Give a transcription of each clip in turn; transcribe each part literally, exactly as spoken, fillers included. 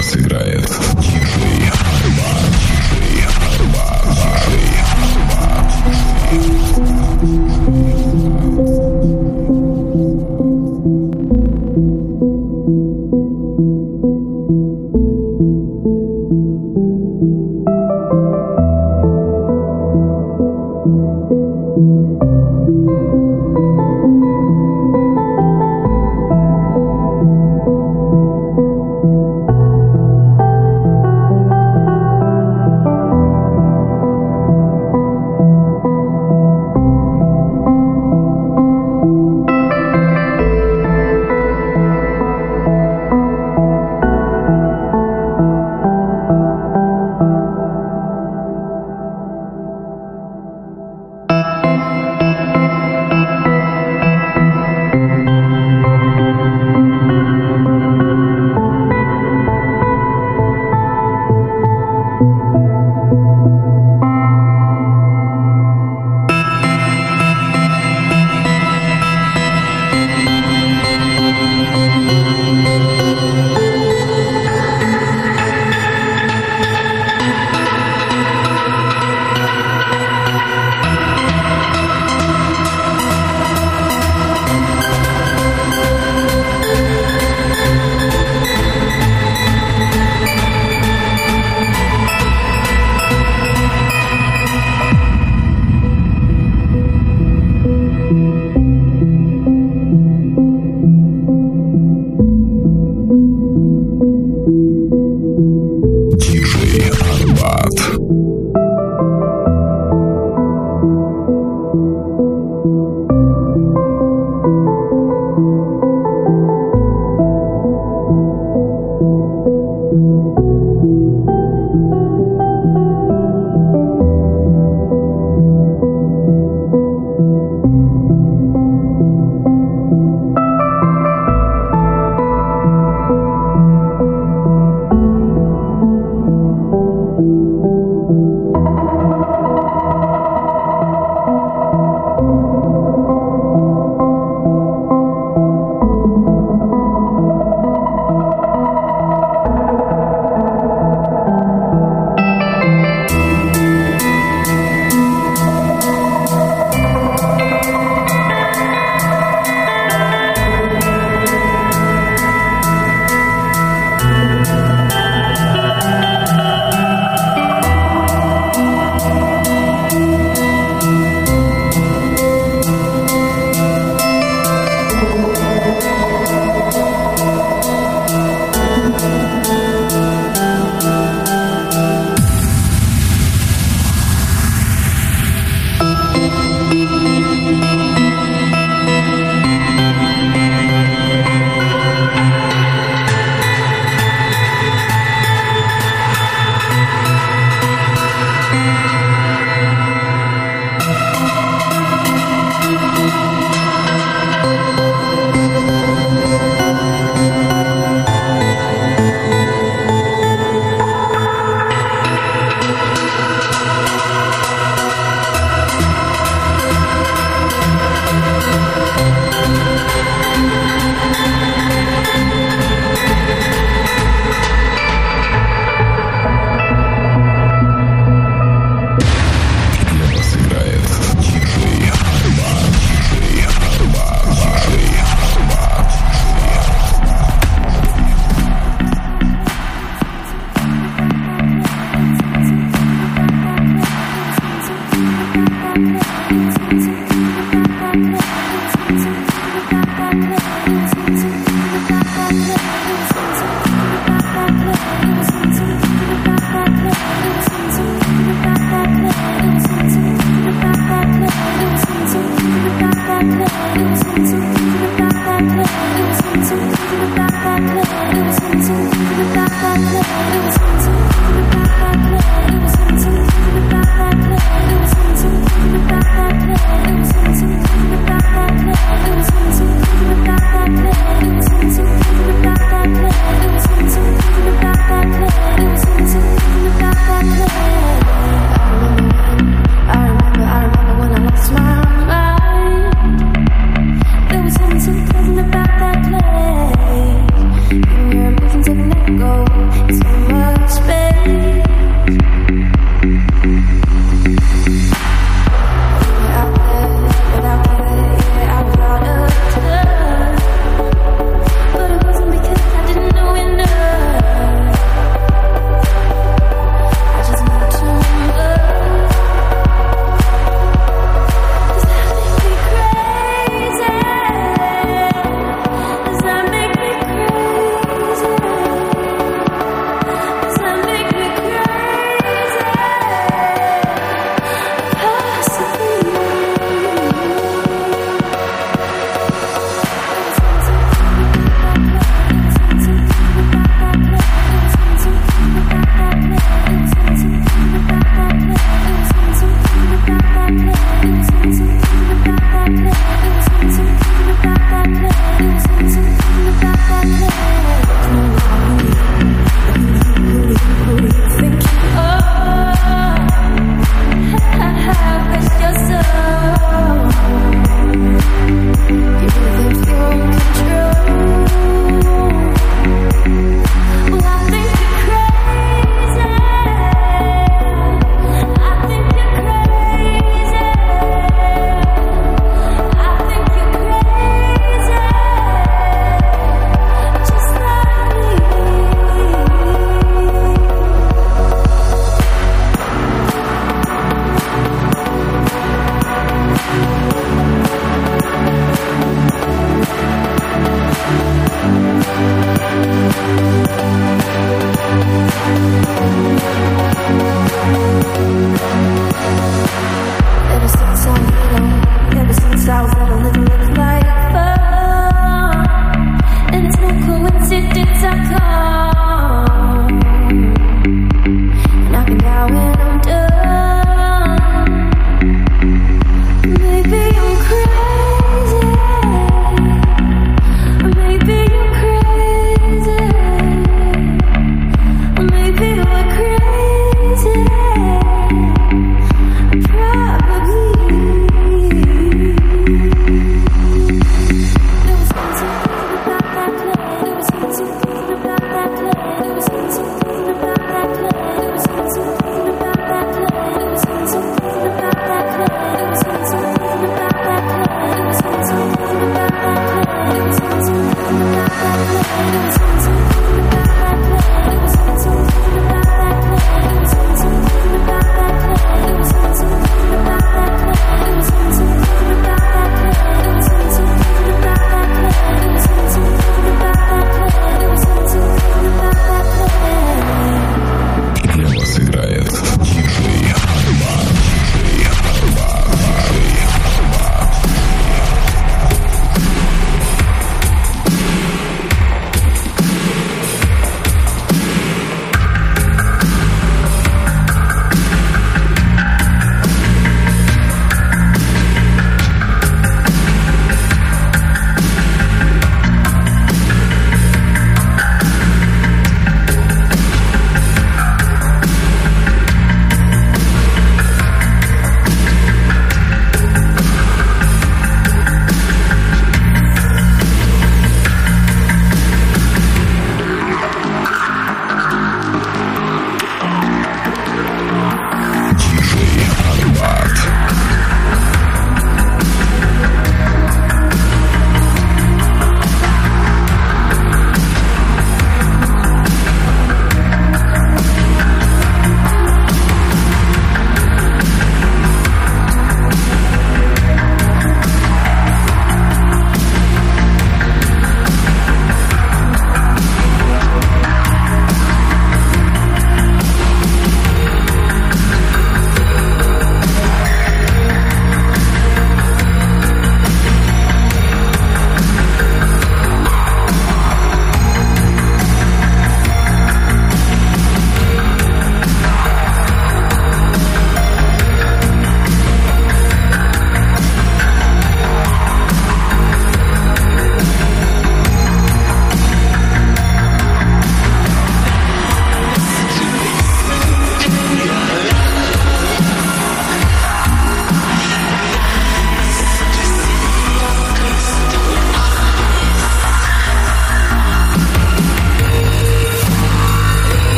вас играет диджей Арбат, диджей Арбат, диджей Арбат, It's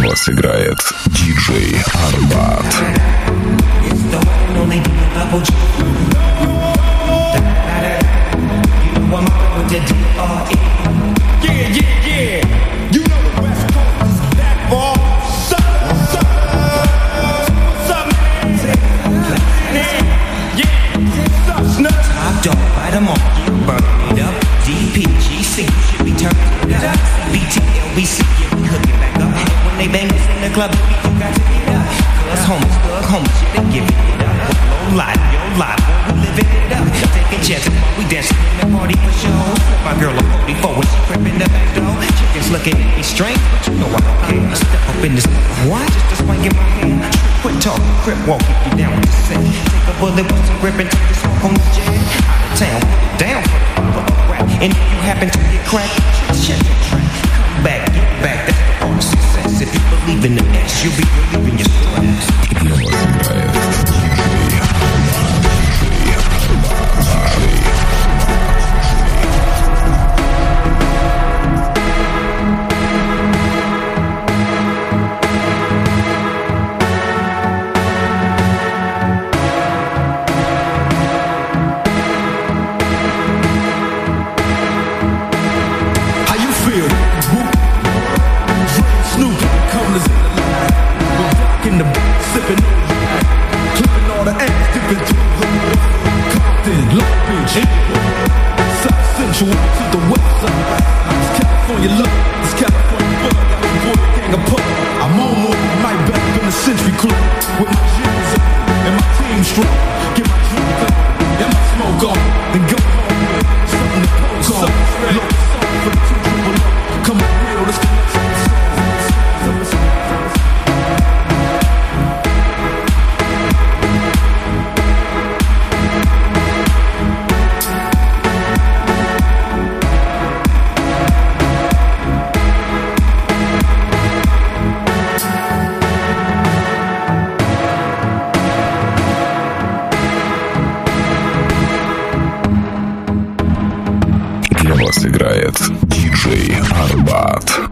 вас играет диджей Арбат. Club, you got to get up. Cause homies, thug homies, shit, they giving it up. Low life, yo life, boy, we living it up. Taking chances while we dancing in the party for show. My girl a forty-four when she crept in the back door. Chickens looking at me strange, but you know I don't care. Step up in this, what? Just a swing in my hand. Quit talking, crip walk, if you down with the set. Take a bullet with some grip and take the smoke on the jet. Out of town, put it down for the rap. And if you happen to get cracked, check the track. Come back, get back, that's the part of success. If you believe in the S, you'll be relieving your stress. Для вас играет диджей How you feel? Snoop, come to in the sipping, clipping all the ass, dipping through the Compton, Long Beach, South Central to the west side. It's California love, it's California bug. I'm a boy, gang of pub. I'm on more than night back in the Century Club with my jeans up and my team strong. Get my drink up and my smoke on, then go home with something to post on. Low song for the two triple O. Come on, real, this connection. Для вас играет диджей Арбат.